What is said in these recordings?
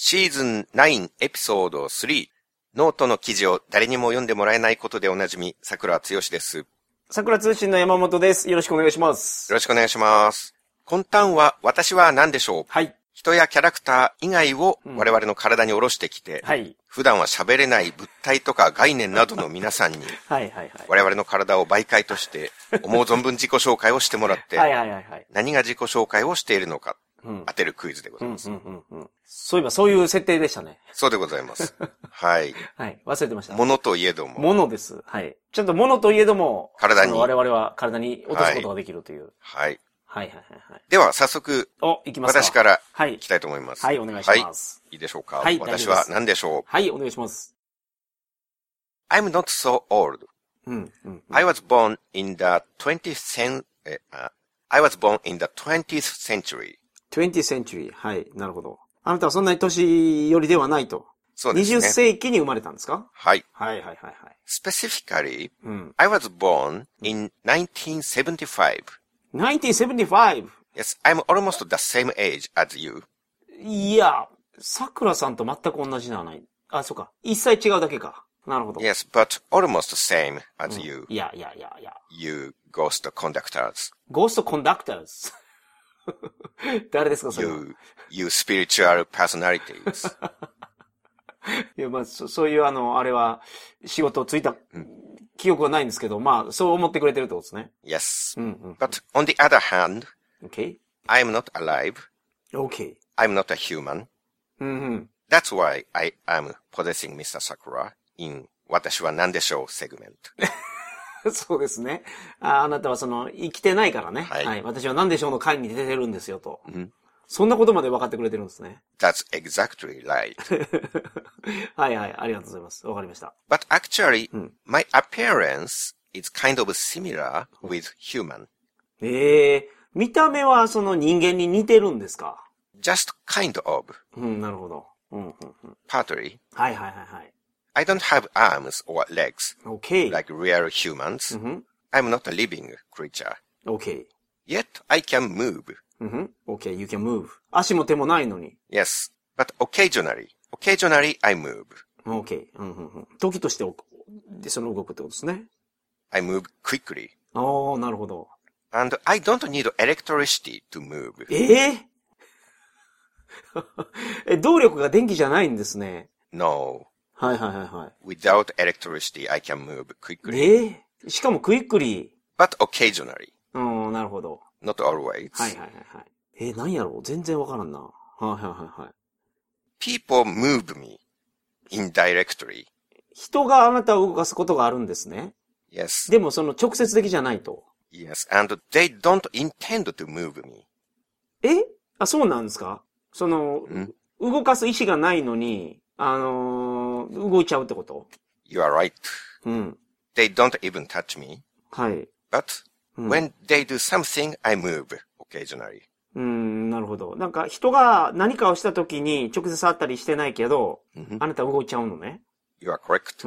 シーズン9エピソード3。ノートの記事を誰にも読んでもらえないことでおなじみ、桜剛です。 桜通信の山本です。よろしくお願いします。 よろしくお願いします。今端は私は何でしょう。 はい。 人やキャラクター以外を我々の体に下ろしてきて、 はい。 普段は喋れない物体とか概念などの皆さんに、 はいはいはい。 我々の体を媒介として思う存分自己紹介をしてもらって、 はいはいはいはい。 何が自己紹介をしているのか、 うん、 当てるクイズでございます。 そういえばそういう設定でしたね。 そうでございます。はい。 はい。忘れてました。 物といえども。 物です。はい。ちょっと物といえども、 体に。 我々は体に落とすことができるという。 はい。 はいはいはいはい。 では、早速。 行きますか。 私から。 はい。 行きたいと思います。 はい、お願いします。 はい。いいでしょうか。 はい。 私は何でしょう。 はい、お願いします。 I'm not so old. I was born in the 20th century. 20th century. はい、なるほど。あなたはそんなに年寄りではないと。 そうですね。 20世紀に生まれたんですか？ はい。 はいはいはいはい。 Specifically, I was born in 1975. 1975? Yes, I'm almost the same age as you. いや、桜さんと全く同じではない。あ、そうか。一歳違うだけか。なるほど。 Yes, but almost same as you. いや。 You ghost conductors. Ghost conductors? 誰ですかそれは。 You spiritual personalities. いや、まあ、そういうあれは、仕事をついた、記憶はないんですけど、まあ、そう思ってくれてるってことですね。 Yes. But on the other hand, okay. I'm not alive. Okay. I'm not a human. That's why I am possessing Mr. Sakura in 私は何でしょう segment. そうですね。あなたは生きてないからね。 はい。 はい。私は何でしょうの会に出てるんですよと。そんなことまで分かってくれてるんですね。 That's exactly right. はいはい。ありがとうございます。わかりました。 But actually, my appearance is kind of similar with human. 見た目は人間に似てるんですか？ Just kind of. なるほど。 Partly. はいはいはいはい。 I don't have arms or legs. Okay. Like real humans. I'm not a living creature. Okay. Yet I can move. Okay, you can move. 足も手もないのに。 Yes, but occasionally I move. Okay. 時として動くってことですね。 I move quickly. なるほど。 And I don't need electricity to move. 動力が電気じゃないんですね。 No. はいはいはいはい。 Without electricity, I can move quickly. しかもクイックリー。But occasionally. なるほど。 Not always. はいはいはいはい。何やろう全然わからんな。はいはいはいはい。 People move me indirectly. 人があなたを動かすことがあるんですね。 Yes. でも直接的じゃないと。 Yes, and they don't intend to move me. そうなんですか？動かす意思がないのに、動いちゃうってこと？ You are right. They don't even touch me. はい。 But, when they do something, I move occasionally. なるほど。なんか人が何かをしたときに直接触ったりしてないけど、あなた動いちゃうのね。 You are correct.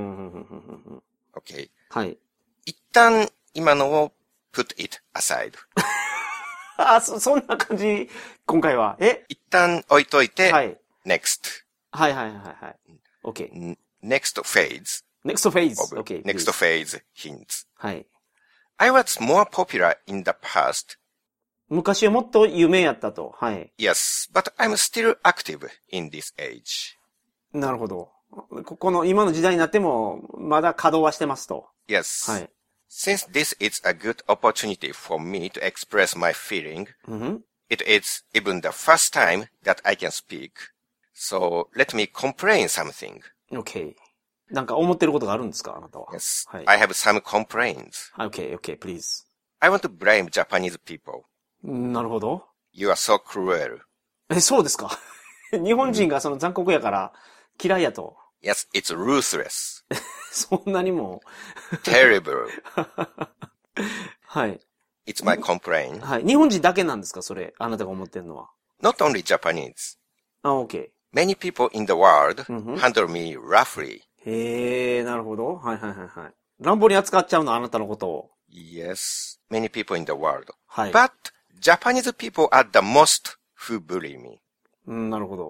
Okay. はい。 一旦今のを put it aside. そんな感じ、今回は。 一旦置いといて、 はい。 next. はいはいはいはい。OK。 next phase. next phase. OK. next phase hints. はい。 I was more popular in the past. 昔はもっと有名やったと。はい。 Yes, but I'm still active in this age. なるほど。この今の時代になっても、まだ稼働はしてますと。 Yes. はい。 Since this is a good opportunity for me to express my feeling, it is even the first time that I can speak. So let me complain something. Okay. なんか思ってることがあるんですかあなたは。 Yes. はい。 I have some complaints. Okay, please. I want to blame Japanese people. なるほど。 You are so cruel. そうですか。日本人が残酷やから嫌いやと。 Yes, it's ruthless. そんなにも。 terrible. はい。 It's my complaint. はい。日本人だけなんですかそれ。あなたが思ってるのは。 Not only Japanese. Okay. Many people in the world handle me roughly. なるほど。はいはいはいはい。乱暴に扱っちゃうの、あなたのことを。 Yes, many people in the world. はい。 But Japanese people are the most who bully me. なるほど。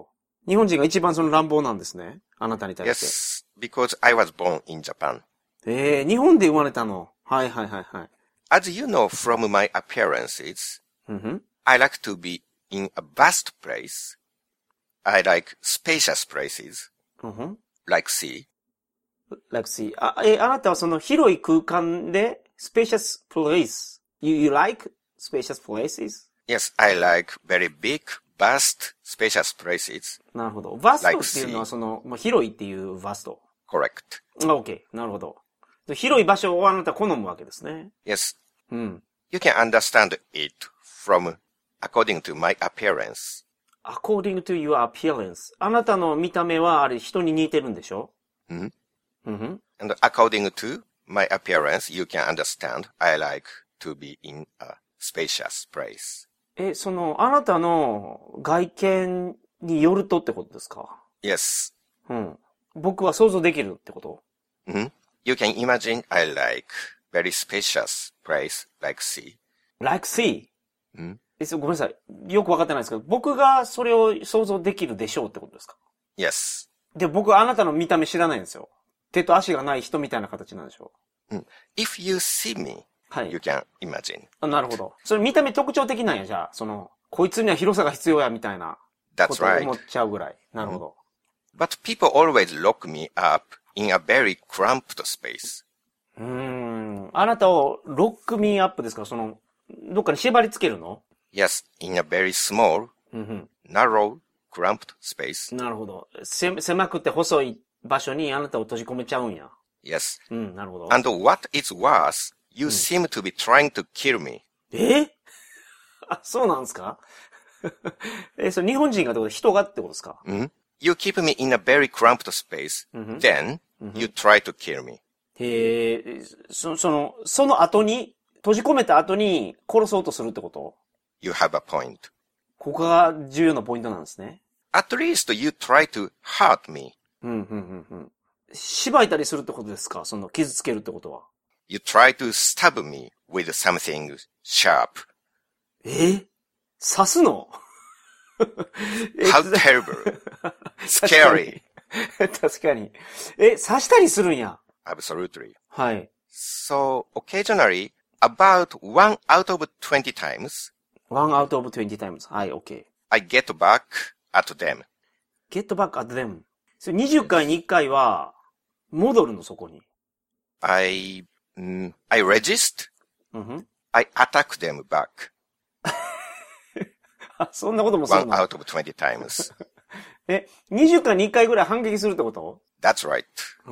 日本人が一番その乱暴なんですね。あなたに対して。 Yes, because I was born in Japan. 日本で生まれたの。はいはいはいはい。 As you know from my appearances, うんふん。 I like to be in a vast place. I like spacious places, うんふん。 like sea. Like see. あなたはその広い空間で、spacious place. You like spacious places? Yes, I like very big, vast, spacious places. なるほど。バスト Like っていうのは sea. その、広いっていうバスト。 Correct. OK。なるほど。広い場所をあなたは好むわけですね。 Yes, うん。 you can understand it from according to my appearance. According to your appearance. あなたの見た目はあれ人に似てるんでしょ？うん。 And according to my appearance, you can understand I like to be in a spacious place. その、あなたの外見によるとってことですか？ Yes. うん。僕は想像できるってこと？ You can imagine I like very spacious place like sea. Like sea? ごめんなさい。よくわかってないですけど、僕がそれを想像できるでしょうってことですか？ Yes. で、僕はあなたの見た目知らないんですよ。手と足がない人みたいな形なんでしょう。 If you see me, はい。 you can imagine. なるほど。それ見た目特徴的なんや、じゃあ。その、こいつには広さが必要や、みたいな。 That's ことを right. 思っちゃうぐらい。なるほど。 But people always lock me up in a very cramped space. あなたをロックミーアップですか？その、どっかに縛り付けるの？ Yes, in a very small, narrow, cramped space. なるほど。狭くて細い場所にあなたを閉じ込めちゃうんや。 Yes. なるほど。 And what is worse, you seem to be trying to kill me. そうなんですか？それ日本人がってこと、人がってことですか？ You keep me in a very cramped space. Then, you try to kill me. その後に、閉じ込めた後に殺そうとするってこと？ You have a point. ここが重要なポイントなんですね。 At least you try to hurt me. 縛いたりするってことですか？その傷つけるってことは。 You try to stab me with something sharp. 刺すの？ How terrible. Scary. 確かに。刺したりするんや。 Absolutely. はい。 So, occasionally, about 1 out of 20 times, 1 out of 20 times. はい、OK。 I get back at them. get back at them. それ20回に1回は、戻るの、そこに。 I resist. I attack them back. そんなこともする 1 の？ out of 20 times. 20回に1回ぐらい反撃するってこと？ That's right.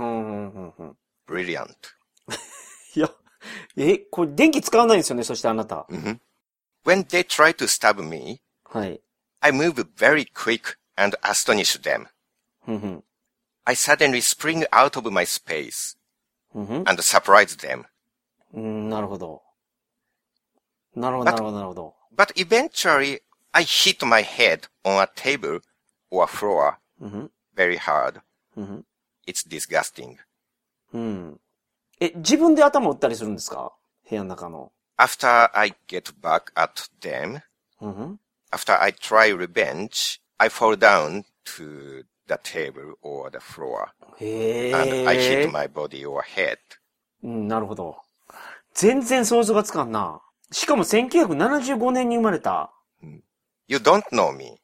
い Brilliant. や、これ電気使わないんですよね、そしてあなた。 When they try to stab me, はい。 I move very quick and astonish them. I suddenly spring out of my space and surprise them. なるほど。なるほど、なるほど、なるほど。 But eventually, I hit my head on a table or floor very hard. It's disgusting. 自分で頭を打ったりするんですか？部屋の中の。 After I get back at them, after I try revenge, I fall down to the table or the floor. And I hit my body or head. なるほど。全然想像がつかんな。しかも1975年に生まれた。 You don't know me.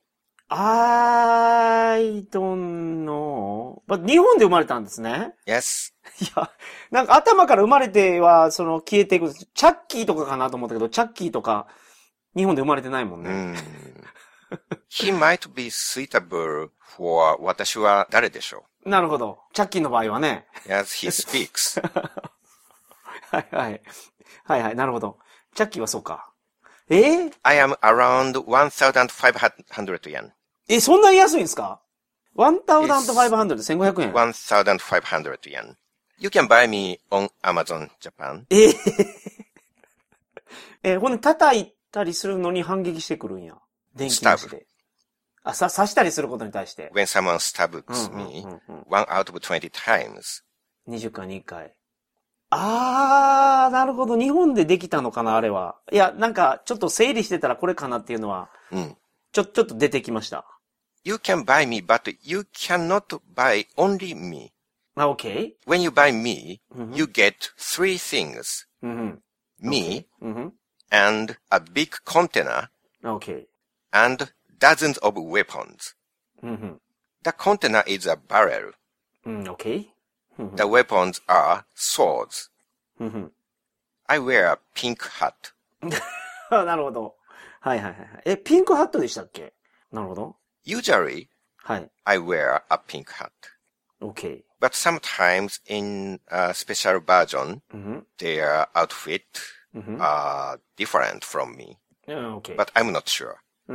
I don't know. But 日本で生まれたんですね。 Yes. いや、なんか頭から生まれては、消えていく。チャッキーとかかなと思ったけど、チャッキーとか、日本で生まれてないもんね。 He might be suitable for 私は誰でしょう。なるほど。チャッキーの場合はね。 Yes, he speaks. はいはい。はいはい、なるほど。チャッキーはそうか。 I am around 1,500 yen. そんなに安いんですか？ 1,500 1500円。 1,500 yen. You can buy me on Amazon Japan. ほんで叩いたりするのに反撃してくるんや。電気なしで。刺したりすることに対して。 When someone stabs me, 1 out of 20 times. 20回に1回。なるほど。日本でできたのかな、あれは。いや、なんか、ちょっと整理してたらこれかなっていうのは、ちょっと出てきました。 You can buy me, but you cannot buy only me. Okay. When you buy me, you get 3 things. Me, and a big container, Okay. and dozens of weapons. The container is a barrel. Okay. The weapons are swords. I wear a pink hat. なるほど。はいはいはい。ピンクハットでしたっけ？なるほど。 Usually, はい。 I wear a pink hat. Okay. But sometimes in a special version, their outfit are different from me. Okay. But I'm not sure.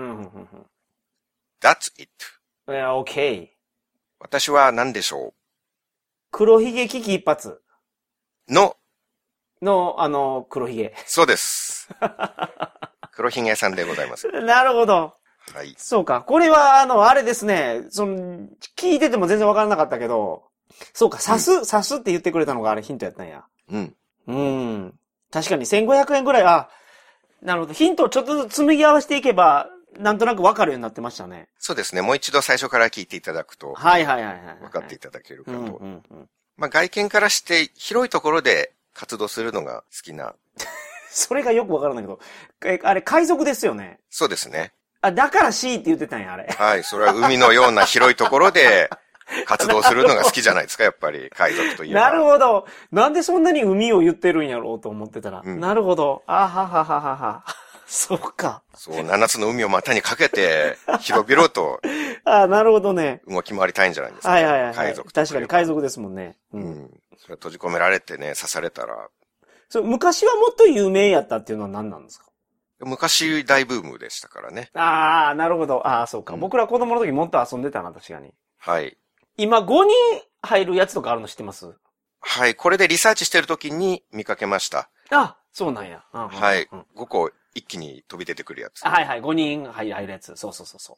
That's it. Okay. 私は何でしょう？ 黒ひげ危機一髪の、 黒ひげ。 そうです。黒ひげさんでございます。 なるほど。 はい。 そうか。これは、あれですね。聞いてても全然わからなかったけど、そうか、刺すって言ってくれたのがあれヒントやったんや。確かに1500円ぐらい、なるほど。ヒントをちょっとずつ紡ぎ合わせていけば、なんとなくわかるようになってましたね。 そうですね。もう一度最初から聞いていただくと、 はいはいはいはい。 分かっていただけるかと。まあ外見からして広いところで活動するのが好きな。 それがよくわからないけど、あれ海賊ですよね。 そうですね。 だから C って言ってたんや、あれ。 はい。それは海のような広いところで活動するのが好きじゃないですか、やっぱり海賊といえば。 なるほど。なんでそんなに海を言ってるんやろうと思ってたら。なるほど。ははははは。そうか。 そう、7つの海を股にかけて、広々と。 なるほどね。 動き回りたいんじゃないですか。 はいはいはい。 海賊と。 確かに海賊ですもんね。 それ閉じ込められてね、刺されたら。 昔はもっと有名やったっていうのは何なんですか？ 昔大ブームでしたからね。 なるほど。そうか。僕ら子供の時もっと遊んでたな、確かに。 はい。 今5人入るやつとかあるの知ってます？ はい。これでリサーチしてる時に見かけました。 そうなんや。 はい。5個一気に飛び出てくるやつ。 はいはい。5人入るやつ。そう。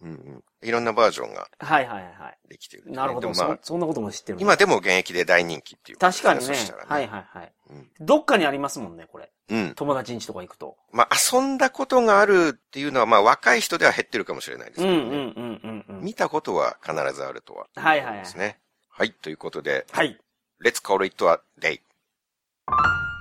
いろんなバージョンが。 はいはいはい。 できてる、 なるほど。そんなことも知ってる。 今でも現役で大人気っていう、 確かにね。はいはいはい。どっかにありますもんね、これ。友達ん家とか行くと。 まあ、遊んだことがあるっていうのは、まあ、若い人では減ってるかもしれないですけどね。見たことは必ずあるとは。 はいはいはい。 ですね。はい。ということで。 はい。 Let's call it a day.